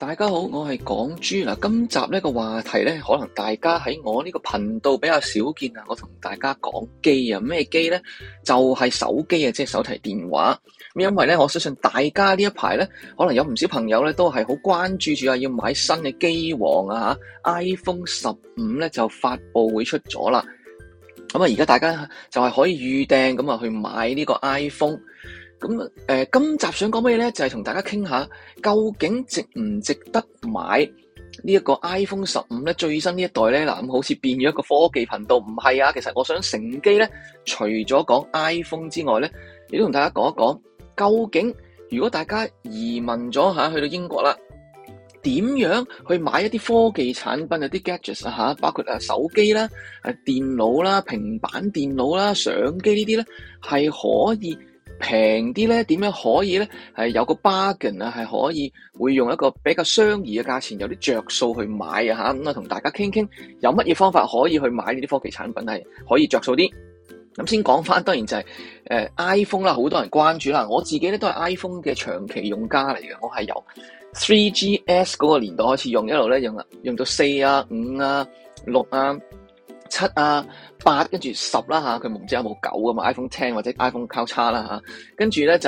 大家好，我係港豬嗱。今集呢個話題咧，可能大家喺我呢個頻道比較少見啊。我同大家講機啊，咩機咧？就係手機啊，即係手提電話。咁因為咧，我相信大家呢一排咧，可能有唔少朋友咧都係好關注住啊，要買新嘅機王啊吓。iPhone 15咧就發佈會出咗啦。咁啊，而家大家就係可以預訂咁啊去買呢個 iPhone。咁今集想講咩咧？就係同大家傾下，究竟值唔值得買呢一個 iPhone 15咧？最新呢一代咧，嗱咁好似變咗一個科技頻道，唔係啊？其實我想乘機咧，除咗講 iPhone 之外咧，亦都同大家講一講，究竟如果大家移民咗去到英國啦，點樣去買一啲科技產品啊？啲 gadgets 啊包括手機啦、電腦啦、平板電腦啦、相機呢啲咧，係可以平啲咧？點樣可以咧？係有個 bargain 啊，係可以會用一個比較相宜嘅價錢，有啲着數去買啊吓。咁啊，同大家傾傾有乜嘢方法可以去買呢啲科技產品係可以着數啲。咁先講翻，當然就係iPhone 啦，好多人關注啦。我自己咧都係 iPhone 嘅長期用家嚟嘅，我係由 3GS 嗰個年代開始用，一路咧用到4啊、5啊、6啊、7啊、8，跟住10啦吓，佢唔知有冇9噶嘛 ，iPhone X 或者 iPhone 交叉啦吓，跟住咧就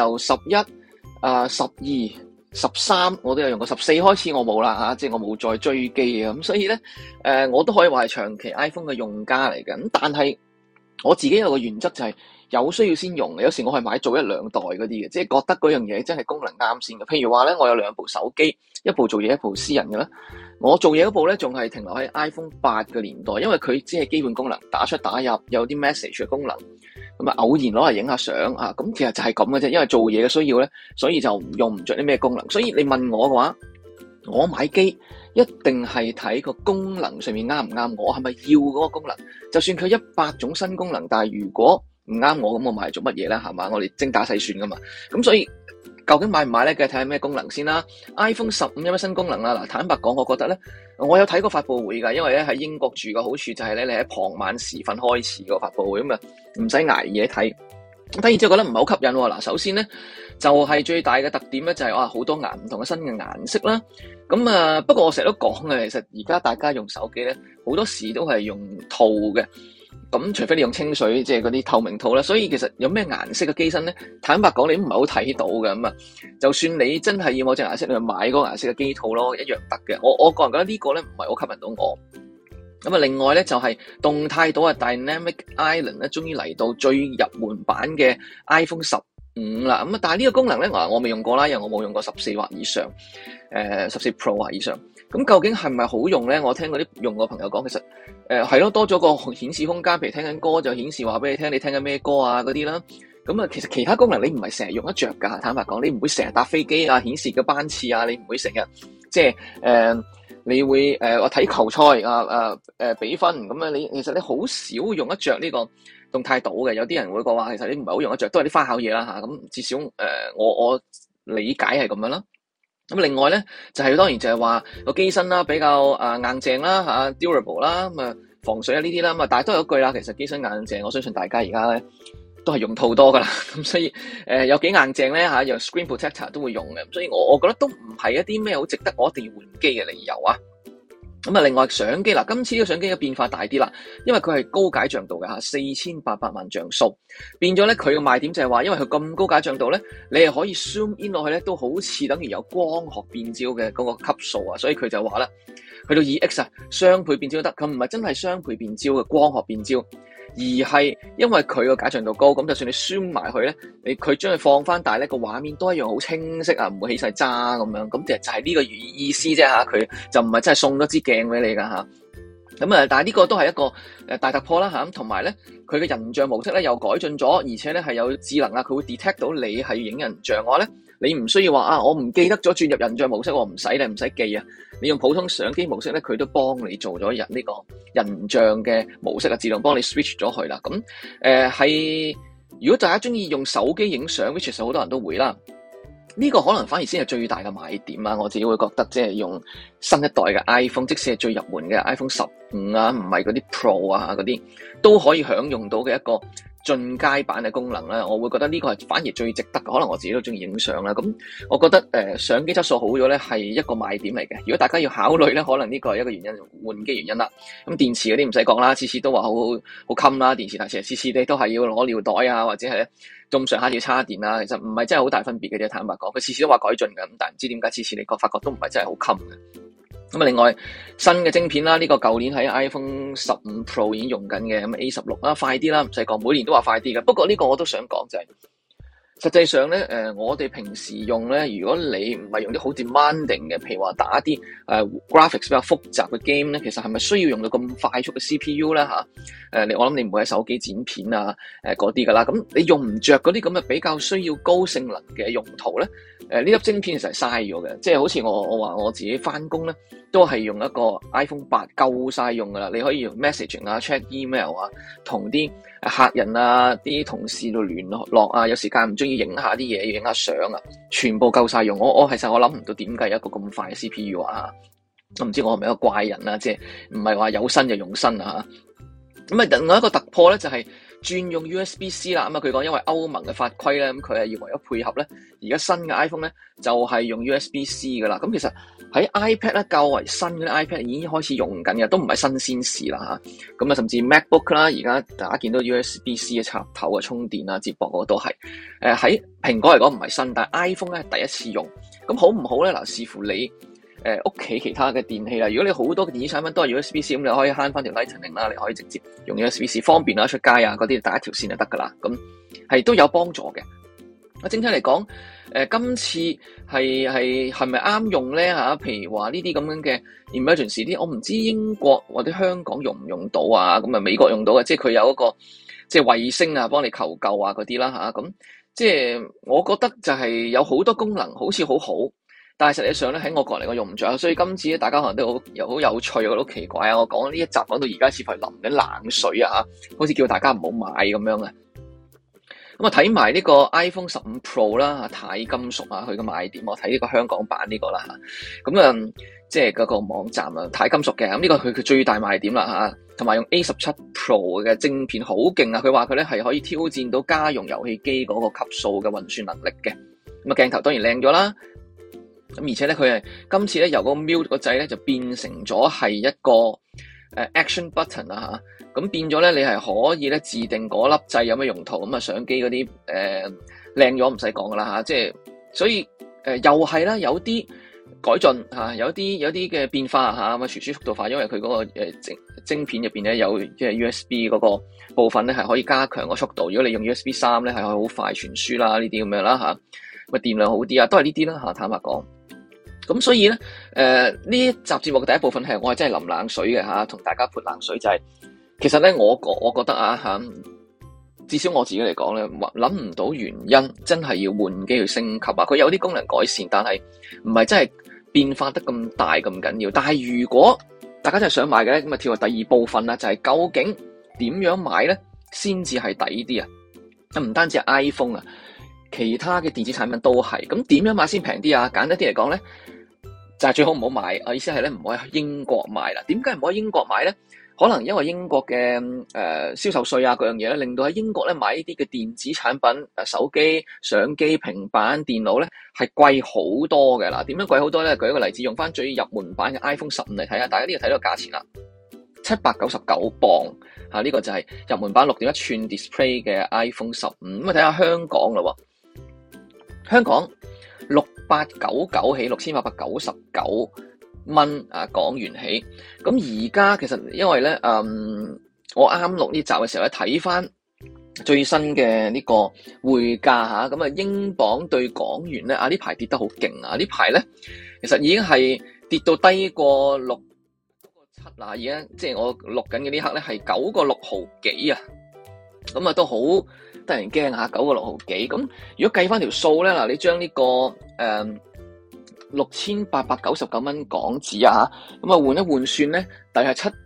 11、12、13，我都有用過14開始我冇啦吓，即係我冇再追機啊，咁所以咧我都可以話係長期 iPhone 嘅用家嚟嘅，咁但係我自己有個原則就係有需要先用嘅，有時我係買做1、2代嗰啲嘅，即係覺得嗰樣嘢真係功能啱先嘅。譬如話咧，我有2部手機，一部做嘢，一部私人嘅啦。我做嘢嗰部咧，仲係停留喺 iPhone 8嘅年代，因為佢只係基本功能，打出打入，有啲 message 嘅功能，咁啊偶然攞嚟影下相啊，咁其實就係咁嘅啫。因為做嘢嘅需要咧，所以就用唔着啲咩功能。所以你問我嘅話，我買機一定係睇個功能上面啱唔啱我，係咪要嗰個功能？就算佢100種新功能，但係如果唔啱我，咁我買嚟做乜嘢咧？係嘛，我哋精打細算噶嘛。咁所以究竟買唔買咧？梗係睇下咩功能先啦。iPhone 15有乜新功能啦？嗱，坦白講，我覺得咧，我有睇過發佈會㗎，因為咧喺英國住嘅好處就係咧，你喺傍晚時分開始個發佈會，咁啊唔使捱夜睇。咁睇完之後覺得唔係好吸引喎。嗱，首先咧就係最大嘅特點咧就係好多唔同嘅新嘅顏色啦。咁不過我成日都講嘅，其實而家大家用手機咧好多時都係用套嘅。咁除非你用清水，即係嗰啲透明套啦，所以其實有咩顏色嘅機身咧，坦白講你唔係好睇到嘅。咁啊，就算你真係要某隻顏色，你去買嗰個顏色嘅機套咯，一樣得嘅。我個人覺得呢個咧唔係好吸引到我。咁啊，另外咧就係動態島啊 Dynamic Island 咧，終於嚟到最入門版嘅 iPhone 15啦。咁啊，但係呢個功能咧，我未用過啦，因為我冇用過14或以上，14 Pro 或以上。咁究竟係咪好用咧？我聽嗰啲用過朋友講，其實係咯，多咗個顯示空間，譬如聽緊歌就顯示話俾你聽，你聽緊咩歌啊嗰啲啦。咁啊，其實其他功能你唔係成日用得着噶。坦白講，你唔會成日搭飛機啊，顯示個班次啊，你唔會成日即係你會我睇球賽比分咁啊，其實你好少用得着呢個動態島嘅。有啲人會講話，其實你唔係好用得着，都係啲花巧嘢啦吓。咁至少我理解係咁樣啦。咁另外咧就係當然就係話個機身啦比較硬淨啦吓 durable 啦，咁啊防水啊呢啲啦，咁啊但係都有一句啦，其實機身硬淨，我相信大家而家咧都係用套多噶啦，咁所以有幾硬淨咧吓，有 screen protector 都會用嘅，所以我覺得都唔係一啲咩好值得我一定要換機嘅理由啊。咁啊，另外相機嗱，今次呢個相機嘅變化大啲啦，因為佢係高解像度嘅吓，4800萬像素，變咗咧佢嘅賣點就係話，因為佢咁高解像度咧，你係可以 zoom in 落去咧，都好似等於有光學變焦嘅嗰個級數啊，所以佢就話啦，去到 2x 啊，雙倍變焦都得，佢唔係真係雙倍變焦嘅光學變焦。而係因為佢個解像度高，咁就算你 zoom 埋去咧，佢將佢放翻大咧，個畫面都一樣好清晰啊，唔會起晒渣咁樣。咁就係呢個意思啫吓，佢就唔係真係送咗支鏡俾你噶吓。咁但係呢個都係一個大突破啦吓。咁同埋咧，佢嘅人像模式咧又改進咗，而且咧係有智能啊，佢會 detect 到你係影人像嘅話咧，你唔需要話我唔記得咗轉入人像模式，我唔使咧，唔使記啊。你用普通相機模式咧，佢都幫你做咗呢個人像嘅模式啊，自動幫你 switch 咗去啦。咁係如果大家中意用手機影相 which 其實好多人都會啦。呢個可能反而先係最大嘅賣點啊！我自己會覺得即係用新一代嘅 iPhone，即使係最入門嘅 iPhone 15 5啊，唔係嗰啲 Pro 啊嗰啲，都可以享用到嘅一個進階版嘅功能咧，我會覺得呢個係反而最值得嘅。可能我自己都中意影相啦，咁我覺得相機質素好咗咧係一個賣點嚟嘅。如果大家要考慮咧，可能呢個係一個原因，換機原因啦。咁電池嗰啲唔使講啦，次次都話好襟啦，電池大，其實次次你都係要攞尿袋啊，或者係咧咁上下要插電啊，其實唔係真係好大分別嘅啫。坦白講，佢次次都話改進嘅，咁但係唔知點解次次你發覺都唔係真係好襟嘅。咁啊，另外新嘅晶片啦，呢個舊年喺 iPhone 15 Pro 已經用緊嘅，咁 A16 啦，快啲啦，唔使講，每年都話快啲嘅。不過呢個我都想講就係，實際上咧，我哋平時用咧，如果你唔係用啲好 demanding 嘅，譬如話打啲graphics 比較複雜嘅 game 咧，其實係咪需要用到咁快速嘅 CPU 咧嚇？我諗你唔會喺手機剪片啊嗰啲噶啦，咁你用唔着嗰啲咁嘅比較需要高性能嘅用途咧？呢粒晶片其實係嘥咗嘅，即係好似我話我自己翻工咧，都係用一個 iPhone 8夠晒用噶啦，你可以用 messaging 啊、check email 啊、同啲客人啊、啲同事度聯絡啊，有時間唔中意影下啲嘢，要影下相啊，全部夠晒用。其實我諗唔到點解有一個咁快嘅 CPU 啊，我唔知我係咪一個怪人啊，即係唔係話有新就用新啊。咁啊，另外一個突破咧就係轉用 USB-C 啦。咁啊，佢講因為歐盟嘅法規咧，咁佢係要為咗配合咧，而家新嘅 iPhone 咧就係用 USB-C 噶啦。咁其實喺 iPad 咧較為新嘅 iPad 已經開始用緊嘅，都唔係新鮮事啦嚇。咁啊，甚至 MacBook 啦，而家大家見到 USB-C 嘅插頭啊、充電啊、接駁嗰個都係。喺蘋果嚟講唔係新，但係 iPhone 咧係第一次用。咁好唔好咧？嗱，視乎你屋企其他嘅電器啦。如果你好多嘅電子產品都係 USB-C，咁你可以慳翻條 Lightning 啦，你可以直接用 USB-C 方便啦，出街啊嗰啲打一條線就得噶啦。咁係都有幫助嘅。整體嚟講，今次係咪啱用咧嚇？譬如話呢啲咁樣嘅 emergency 啲，我唔知英國或者香港用唔用到啊？咁啊美國用到嘅，即係佢有一個即係衛星啊，幫你求救啊嗰啲啦嚇。咁即係我覺得就係有好多功能，好似好好。但係實際上咧，喺我個人嚟講用唔着，所以今次咧大家可能都好有趣，我覺得好奇怪啊！我講呢一集講到而家似乎係淋緊冷水啊，好似叫大家唔好買咁樣啊。咁啊睇埋呢個 iPhone 15 Pro 啦，鈦金屬啊，佢嘅賣點，我睇呢個香港版呢個啦嚇。咁即係嗰個網站啊，鈦金屬嘅，咁呢個佢最大賣點啦嚇。同埋用 A17 Pro 嘅晶片好勁啊！佢話佢咧係可以挑戰到家用遊戲機嗰個級數嘅運算能力嘅。咁啊鏡頭當然靚咗啦。咁而且咧，佢係今次咧由個 mute 個掣咧就變成咗係一個action button 啊嚇，咁變咗咧你係可以咧自定嗰粒掣有咩用途，咁啊相機嗰啲靚咗唔使講噶啦嚇，即係所以又係啦，有啲改進嚇，有啲嘅變化嚇，咁啊傳輸速度快，因為佢嗰個晶片入邊咧有即係 USB 嗰個部分咧係可以加強個速度，如果你用 USB 3咧係可以好快傳輸啦，呢啲咁樣啦嚇，咁啊電量好啲啊，都係呢啲啦嚇，坦白講。咁所以咧，呢一集節目嘅第一部分係我係真係淋冷水嘅嚇，同大家潑冷水就係，其實咧我覺得啊嚇，至少我自己嚟講咧，諗唔到原因真係要換機去升級啊！佢有啲功能改善，但係唔係真係變化得咁大咁緊要。但係如果大家真係想買嘅咧，咁啊跳去第二部分啦，就係究竟點樣買咧先至係抵啲啊？唔單止係 iPhone 啊，其他嘅電子產品都係。咁點樣買先平啲啊？簡單啲嚟講咧，就係最好唔好買，我意思係咧唔可以喺英國買啦。點解唔可以英國買咧？可能因為英國嘅銷售稅啊嗰樣嘢咧，令到喺英國咧買呢啲嘅電子產品手機、相機、平板電腦咧係貴好多嘅啦。點樣貴好多咧？舉一個例子，用翻最入門版嘅 iPhone 15嚟睇下，大家呢個睇到個價錢啦，799磅嚇，呢個就係入門版6.1寸 display 嘅 iPhone 15。咁啊睇下香港啦喎，香港6899起6899蚊港元起，咁而家其實因為咧，我啱錄呢集嘅時候咧，睇翻最新嘅呢個匯價嚇，咁啊英鎊對港元咧呢排跌得好勁啊！呢排咧其實已經係跌到低過6.7啦，而家即係我錄緊嘅呢刻咧係9個6毫幾啊，咁啊都好得人驚嚇，9個6毫幾。咁如果計翻條數咧，嗱你將呢個6899蚊港紙啊嚇，咁啊換一換算咧，大概係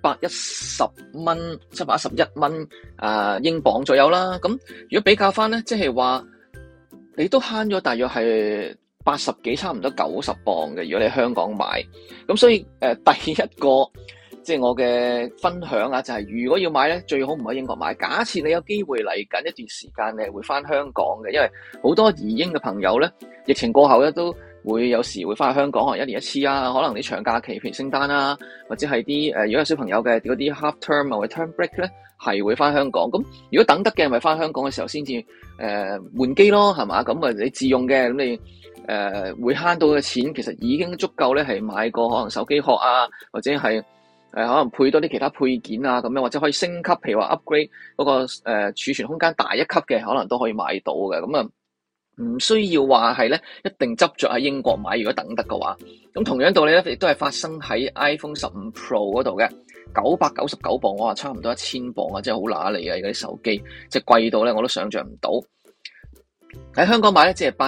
711蚊英鎊左右啦。咁如果比較翻咧，即係話你都慳咗大約係80幾，差唔多90磅嘅。如果你喺香港買，咁所以第一個即係我嘅分享啊，就係如果要買咧，最好唔喺英國買。假設你有機會嚟緊一段時間，你係會翻香港嘅，因為好多移英嘅朋友咧，疫情過後咧都會有時會翻去香港，可能1年1次啊，可能啲長假期，譬如聖誕啊，或者係啲如果有小朋友嘅嗰啲 half term 或者 term break 咧，係會翻香港。咁如果等得嘅，咪翻香港嘅時候先至換機咯，係嘛？咁啊你自用嘅，咁你會慳到嘅錢，其實已經足夠咧，係買個可能手機殼啊，或者係可能配多啲其他配件啊，咁樣或者可以升級，譬如話 upgrade 嗰個儲存空間大一級嘅，可能都可以買到嘅。咁啊，唔需要話係咧一定執着喺英國買，如果等得嘅話。咁同樣道理咧，亦都係發生喺 iPhone 15 Pro 嗰度嘅，999磅，我話差唔多1000磅啊，真係好揦脷啊！而家啲手機即係貴到咧，我都想象唔到。喺香港買咧，只係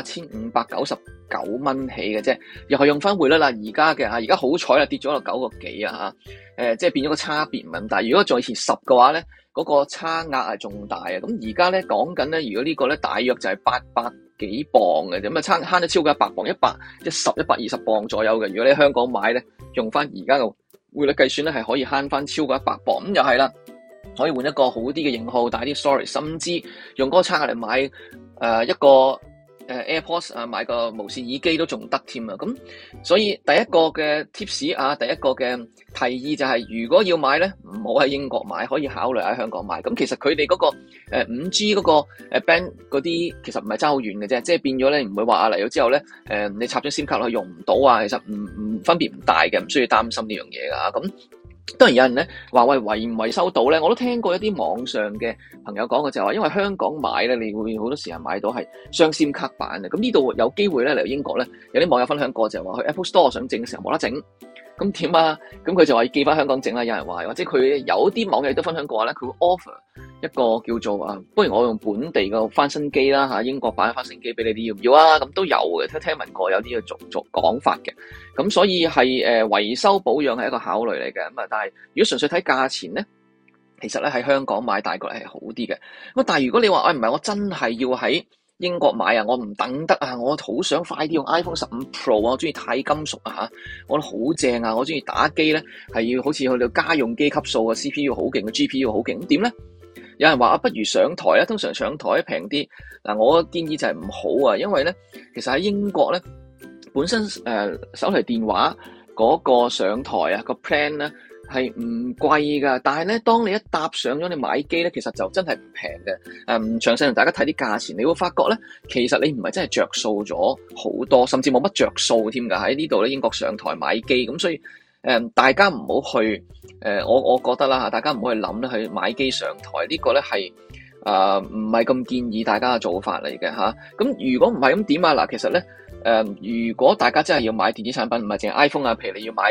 8599蚊起嘅啫，又係用翻匯率啦。而家嘅而家好彩啦，跌咗落9個幾啊嚇，即係變咗個差別唔係咁大。如果再以前10嘅話咧，嗰個差額係仲大啊。咁而家咧講緊咧，如果呢個咧大約就係800幾磅嘅，咁啊慳咗超過100磅，120磅左右嘅。如果你喺香港買咧，用翻而家嘅匯率計算咧，係可以慳翻超過100磅。咁又係啦，可以換一個好啲嘅型號，大啲 storage，甚至用嗰個差額嚟買一個AirPods 啊，買個無線耳機都仲得添啊！咁所以第一個嘅 tips 啊，第一個嘅提議就係，如果要買咧，唔好喺英國買，可以考慮喺香港買。咁其實佢哋嗰個5G 嗰個band 嗰啲，其實唔係爭好遠嘅啫，即係變咗咧，唔會話嚟咗之後咧，你插咗 SIM 卡落去用唔到啊，其實唔分別唔大嘅，唔需要擔心呢樣嘢噶。咁當然有人咧話喂，維唔維修到咧，我都聽過一啲網上嘅朋友講嘅就係話，因為香港買咧，你會好多時候買到係雙 SIM 卡版嘅。咁呢度有機會咧嚟到英國咧，有啲網友分享過就係話去 Apple Store 想整嘅時候冇得整，咁點啊？咁佢就話要寄翻香港整啦。有人話，或者佢有啲網友都分享過咧，佢會 offer 一個叫做不如我用本地嘅翻新機啦嚇，英國版嘅翻新機俾你哋要唔要啊？咁都有嘅，聽聞過有啲嘅做講法嘅。咁所以係維修保養係一個考慮嚟嘅。咁啊，但係如果純粹睇價錢咧，其實咧喺香港買大概係好啲嘅。咁但係如果你話唔係我真係要喺英國買啊，我唔等得啊，我好想快啲用 iPhone 15 Pro 啊，我中意鈦金屬啊嚇，我覺得好正啊，我中意打機咧係要好似去到家用機級數嘅 CPU 好勁嘅 GPU 好勁，咁點咧？有人話不如上台啊，通常上台平啲。嗱，我建議就係唔好啊，因為咧其實喺英國咧本身手提電話嗰個上台啊個 plan 咧係唔貴噶，但係咧當你一搭上咗你買機咧，其實就真係唔平嘅。唔詳細同大家睇啲價錢，你會發覺咧，其實你唔係真係着數咗好多，甚至冇乜着數添㗎。喺呢度咧英國上台買機，咁所以大家唔好去我覺得啦嚇，大家唔好去諗咧去買機上台，呢個咧係唔係咁建議大家嘅做法嚟嘅嚇。咁如果唔係咁點啊？嗱，其實咧如果大家真係要買電子產品，唔係淨係 iPhone 啊，譬如你要買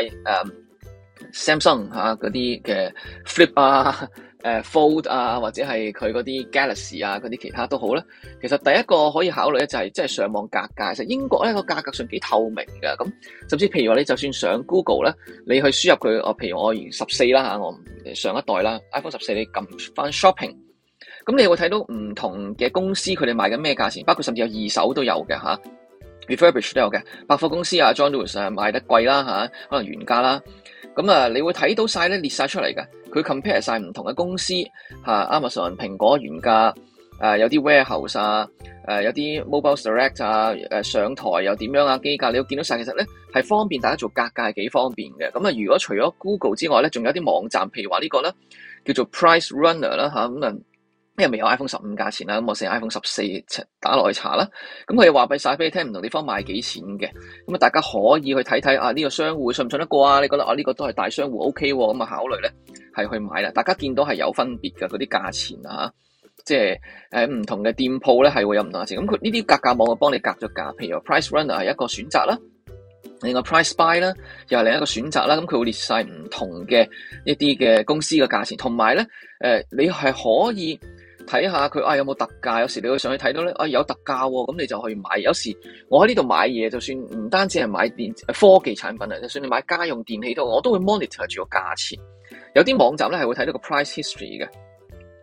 Samsung 嗰啲嘅 Flip 啊、Fold 啊，或者係佢嗰啲 Galaxy 啊嗰啲其他都好咧。其實第一個可以考慮咧就係即係上網格價。其實英國咧個價格上幾透明嘅，咁甚至譬如話你就算上 Google 咧，你去輸入佢，譬如我14啦嚇，我上一代啦 iPhone 14，你撳翻 Shopping， 咁你會睇到唔同嘅公司佢哋賣緊咩價錢，包括甚至有二手都有嘅嚇，refurbish 都有嘅。百貨公司啊 John Lewis 賣得貴啦嚇，可能原價啦。咁你會睇到晒咧列晒出嚟嘅，佢 compare 晒唔同嘅公司Amazon、蘋果原價，有啲 warehouse 啊，有啲 mobile direct 啊，上台又點樣啊，機價你要見到晒，其實咧係方便大家做格價係幾方便嘅。咁如果除咗 Google 之外咧，仲有啲網站，譬如話呢個咧叫做 Price Runner 啦嚇，咁因為未有 iPhone 15價錢啦，咁我寫 iPhone 14打落去查啦，咁佢又話晒俾你聽唔同地方賣幾錢嘅，咁大家可以去睇睇呢個商戶信唔信得過啊？你覺得呢個都係大商戶 OK 喎，咁考慮咧係去買啦。大家見到係有分別嘅嗰啲價錢啊，即係唔同嘅店鋪咧係會有唔同價錢。咁佢呢啲格價網會幫你格咗價，譬如話 Price Runner 係一個選擇啦，另外 Price Buy 啦又係另一個選擇啦。咁佢會列晒唔同嘅一啲嘅公司嘅價錢，同埋咧你係可以睇下佢有冇特價，有時你會上去睇到咧有特價喎，咁你就去買。有時我喺呢度買嘢，就算唔單止係買科技產品啊，就算你買家用電器都，我都會 monitor 住個價錢。有啲網站咧係會睇到個 price history 嘅，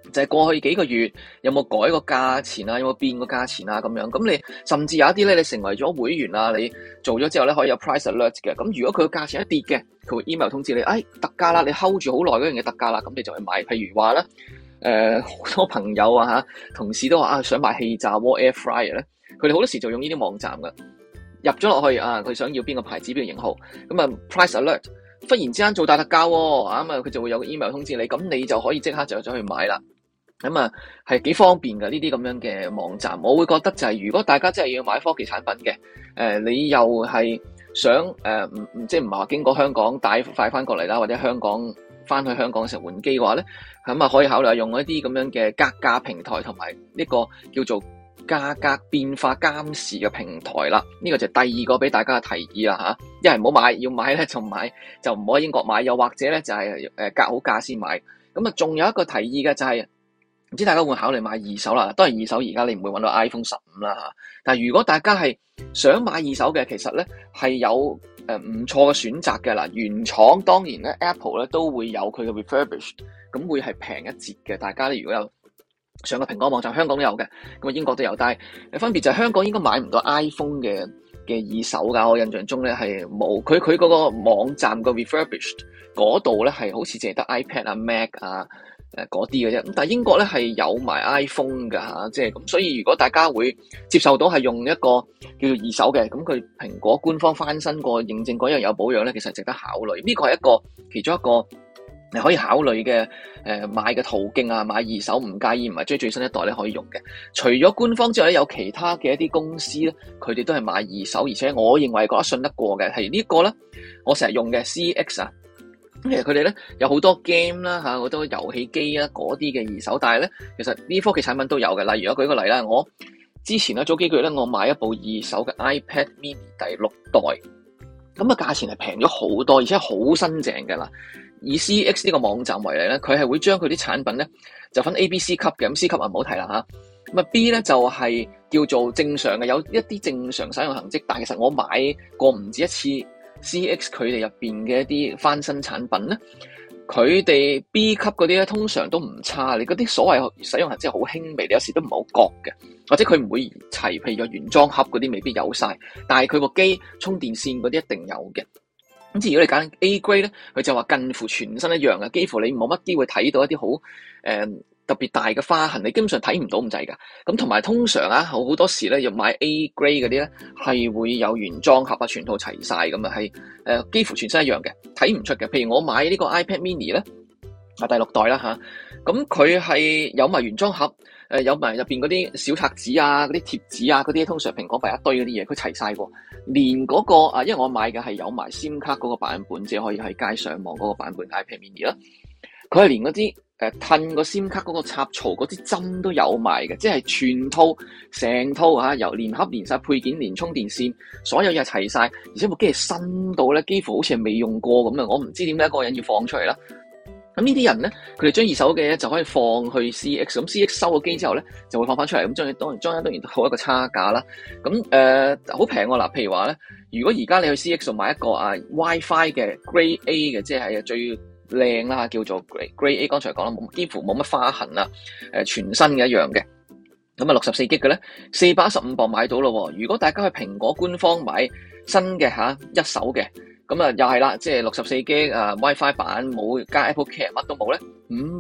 就係過去幾個月有冇改個價錢啊，有冇變個價錢啊咁樣。咁你甚至有一啲咧，你成為咗會員啊，你做咗之後咧可以有 price alert 嘅。咁如果佢個價錢一跌嘅，佢會 email 通知你，特價啦，你 hold 住好耐嗰樣嘢特價啦，咁你就去買。譬如話咧，好多朋友啊同事都話想買氣炸鍋 air fryer 咧，佢哋好多時就用呢啲網站噶，入咗落去佢想要邊個牌子邊個型號，咁啊 price alert。忽然之間做大特價喎，佢就會有個 email 通知你，咁你就可以即刻就走去買啦。咁係幾方便㗎呢啲咁樣嘅網站。我會覺得就係如果大家真係要買科技產品嘅，你又係想即係唔係話經過香港帶快翻過嚟啦，或者翻去香港嘅時候換機嘅話咧，咁可以考慮用一啲咁樣嘅格價平台同埋呢個叫做價格變化監視嘅平台啦。呢個就係第二個俾大家嘅提議啦嚇。一係唔好買，要買咧就唔好喺英國買，又或者咧就係格好價先買。咁仲有一個提議嘅就係，唔知大家會考慮買二手啦。當然二手而家你唔會揾到 iPhone 15啦嚇。但係如果大家係想買二手嘅，其實咧係有唔錯嘅選擇嘅啦。原廠當然咧 Apple 咧都會有佢嘅 refurbished， 咁會係平一截嘅。大家咧如果有上個蘋果網站，香港都有嘅，咁英國都有，但係分別就係香港應該買唔到 iPhone 嘅二手㗎。我印象中咧係冇，佢嗰個網站個 refurbished 嗰度咧係好似淨係得 iPad 啊 Mac 啊嗰啲嘅啫。咁但係英國咧係有埋 iPhone 㗎嚇，即係咁。所以如果大家會接受到係用一個叫做二手嘅，咁佢蘋果官方翻新過認證過一樣有保養咧，其實值得考慮。呢個係其中一個你可以考慮嘅買嘅途徑啊。買二手唔介意，唔係追最新一代咧可以用嘅。除咗官方之外咧，有其他嘅一啲公司咧，佢哋都係買二手，而且我認為覺得信得過嘅係呢個咧，我成日用嘅 CX 啊。其實佢哋咧有好多 game 啦嚇，好多遊戲機啊嗰啲嘅二手，但係咧其實呢科技產品都有嘅。例如我舉個例啦，我之前咧早幾個月咧，我買一部二手嘅 iPad Mini 第6代，咁價錢係平咗好多，而且好新淨嘅啦。以 CX 呢個網站為例咧，佢係會將佢啲產品咧就分 A、B、C 級嘅，咁 C 級唔好提啦嚇。咁 B 咧就係叫做正常嘅，有一啲正常使用痕跡，但係其實我買過唔止一次 CX 佢哋入邊嘅一啲翻新產品咧，佢哋 B 級嗰啲咧通常都唔差，你嗰啲所謂使用痕跡好輕微，你有時都唔好覺嘅，或者佢唔會齊，譬如個原裝盒嗰啲未必有晒，但係佢個機充電線嗰啲一定有嘅。咁如果你揀 A grade 咧，佢就話近乎全身一樣嘅，幾乎你冇乜機會睇到一啲好特別大嘅花痕，你基本上睇唔到咁滯㗎。咁同埋通常好多時咧，要買 A grade 嗰啲咧係會有原裝盒啊，全套齊晒咁啊，係幾乎全身一樣嘅，睇唔出嘅。譬如我買呢個 iPad Mini 咧，第6代啦嚇，咁佢係有埋原裝盒，有埋入邊嗰啲小冊子啊、嗰啲貼紙啊、嗰啲通常蘋果擺一堆嗰啲嘢，佢齊晒喎。連嗰個因為我買嘅係有埋 SIM 卡嗰個版本，即係可以喺街上網嗰個版本 iPad Mini 啦。佢係連嗰啲褪個 SIM 卡嗰個插槽嗰啲針都有埋嘅，即係全套成套嚇，由連盒連晒配件、連充電線，所有嘢齊晒，而且部機係新到咧，幾乎好似係未用過咁啊！我唔知點解一個人要放出嚟啦。咁呢啲人咧，佢哋將二手嘅就可以放去 CX， 咁 CX 收咗機之後咧，就會放翻出嚟，咁當然好一個差價啦。咁好平喎嗱，譬如話咧，如果而家你去 CX 度買一個WiFi 嘅 Grade A 嘅，即係最靚啦，叫做 Grade A， 剛才講啦，幾乎冇乜花痕啦，全新嘅一樣嘅。咁64GB嘅咧，415磅買到咯。如果大家去蘋果官方買新嘅一手嘅。咁又係啦，即係64GB WiFi 版，冇加 Apple Care 乜都冇咧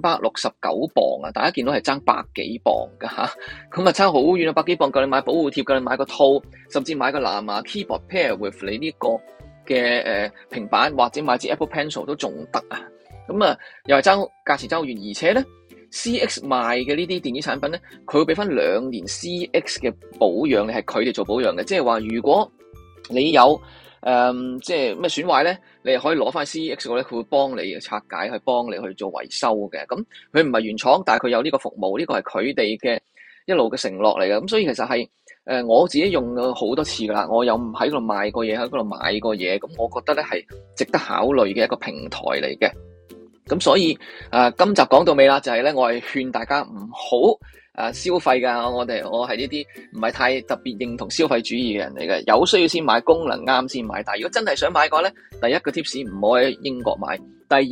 ，569磅啊！大家見到係爭百幾磅噶嚇，咁爭好遠啊！百幾磅夠你買保護貼，夠你買個套，甚至買個藍牙 keyboard pair with 你呢個嘅平板，或者買支 Apple Pencil 都仲得啊！咁又係價錢爭好遠，而且咧 CX 賣嘅呢啲電子產品咧，佢會俾翻2年 CX 嘅保養，你係佢哋做保養嘅，即係話如果你有即係咩損壞咧，你係可以攞翻 CX 嗰咧，佢會幫你拆解，去幫你去做維修嘅。咁佢唔係原廠，但係佢有呢個服務，呢個係佢哋嘅一路嘅承諾嚟嘅。咁所以其實係我自己用咗好多次噶啦，我有喺度賣過嘢，喺嗰度買過嘢，咁我覺得咧係值得考慮嘅一個平台嚟嘅。咁所以今集講到尾啦，就係咧我係勸大家唔好消費㗎，我係呢啲唔係太特別認同消費主義嘅人嚟嘅，有需要先買，功能啱先買。但係如果真係想買嘅話咧，第一個 tips 唔好喺英國買，第二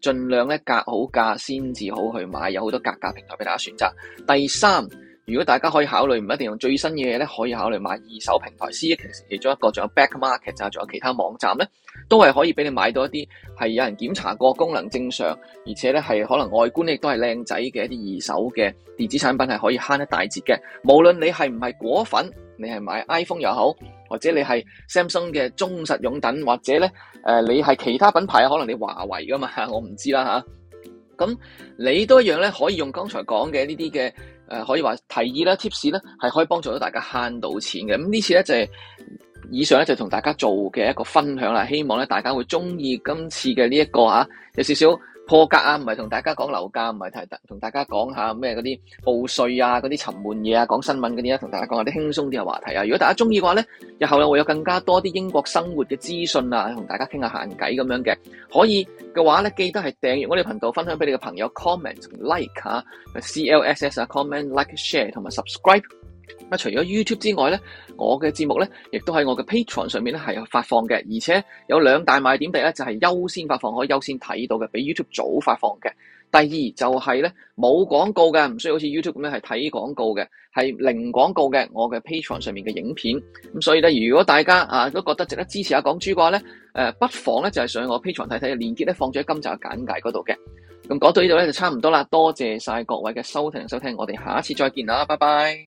盡量咧格好價先至好去買，有好多格價平台俾大家選擇。第三，如果大家可以考慮唔一定用最新嘅嘢咧，可以考慮買二手平台 CX 其中一個，仲有 Back Market 啊，仲有其他網站咧，都係可以俾你買到一啲係有人檢查過功能正常，而且咧係可能外觀亦都係靚仔嘅一啲二手嘅電子產品，係可以慳一大截嘅。無論你係唔係果粉，你係買 iPhone 又好，或者你係 Samsung 嘅忠實擁躉，或者咧你係其他品牌，可能你華為噶嘛，我唔知啦吓。咁你都一樣咧，可以用剛才講嘅呢啲嘅可以話提議啦、tips 啦，係可以幫助到大家慳到錢嘅。咁呢次咧就係以上咧就同大家做嘅一個分享啦，希望咧大家會中意今次嘅呢一個有少少破格啊，唔係同大家講樓價，唔係同大家講下咩嗰啲報稅啊、嗰啲沉悶嘢啊、講新聞嗰啲啊，同大家講下啲輕鬆啲嘅話題啊。如果大家中意嘅話咧，日後咧會有更加多啲英國生活嘅資訊啊，同大家傾下閒偈咁樣嘅。可以嘅話咧，記得係訂閱我哋頻道，分享俾你嘅朋友 ，comment like CLSS comment like share 同埋 subscribe。除咗 YouTube 之外咧，我嘅節目咧，亦都喺我嘅 Patreon 上面咧係有發放嘅，而且有兩大賣點，第一就係優先發放，可以優先睇到嘅，比 YouTube 早發放嘅。第二就係咧冇廣告嘅，唔需要好似 YouTube 咁樣係睇廣告嘅，係零廣告嘅。我嘅 Patreon 上面嘅影片，咁所以咧，如果大家都覺得值得支持下港豬嘅話咧，不妨咧就係上我 Patreon 睇睇，連結咧放咗喺今集嘅簡介嗰度嘅。咁講到呢度咧就差唔多啦，多謝晒各位嘅收聽，我哋下一次再見啦，拜拜。